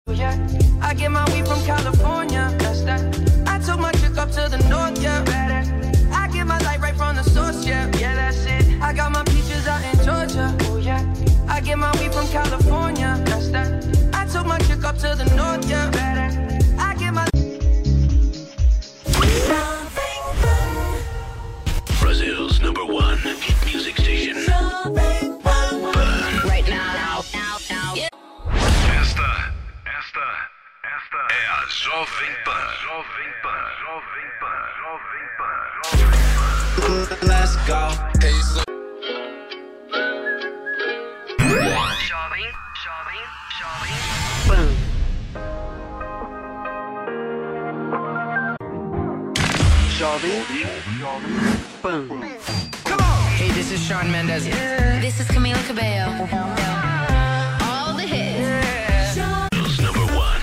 Yeah, I get my weed from California. That's that. I took my chick up to the north, yeah. I get my light right from the source, yeah. Yeah, that's it. I got my peaches out in Georgia. Oh yeah. I get my weed from California. That's that. I took my chick up to the north, yeah. I get my Brazil's #1 hit music station. Right now. Yeah. Esta é a Jovem Pan. Let's go. Jovem Pan. Jovem Pan. come on. Hey, this is Shawn Mendes. This is Camila Cabello. All the hits. Brazil's #1.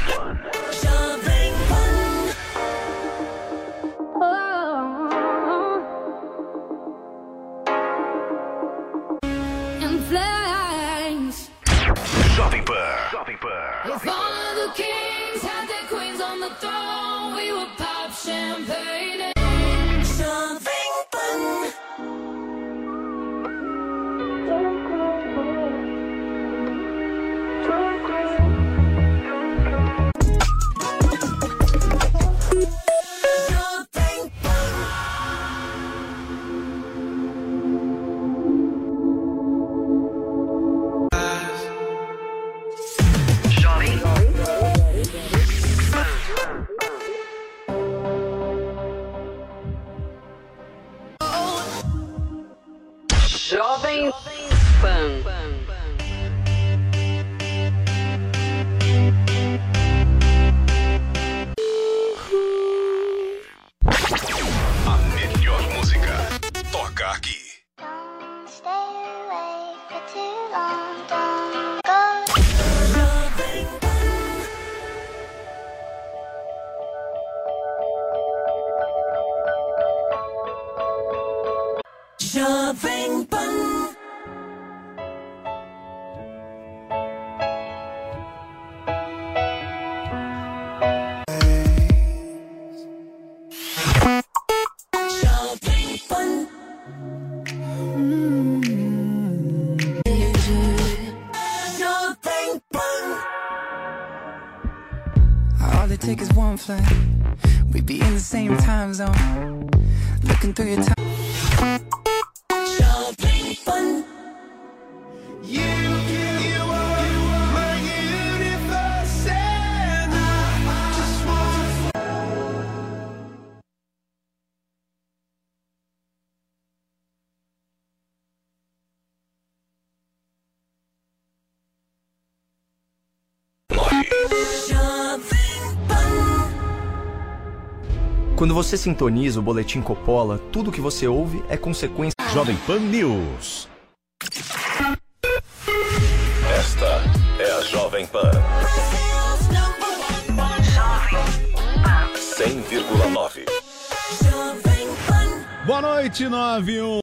In flames. Jovem Pan. If all of the kings had their queens on the throne, we would pop champagne. Jovem Pan. A melhor música toca aqui. Don't stay away for too long. Don't go. Jovem Pan. Jovem Pan. Jovem Pan. All it takes is one flight. We'd be in the same time zone. Looking through your time. Jovem Pan. Jovem Pan. Quando você sintoniza o Boletim Coppola, tudo que você ouve é consequência. Jovem Pan News. Esta é a Jovem Pan. 100,9. Boa noite, 91.